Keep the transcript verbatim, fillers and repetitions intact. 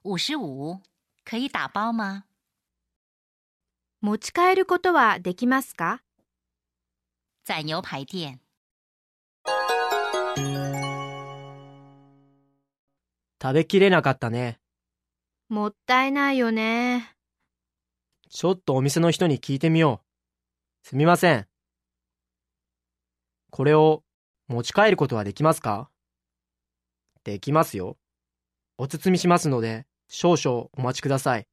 五十五，可以打包吗？ 持ち帰ることはできますか？ 在牛排店。 食べきれなかったね。 もったいないよね。 ちょっとお店の人に聞いてみよう。すみません。これを持ち帰ることはできますか？できますよ。お包みしますので少々お待ちください。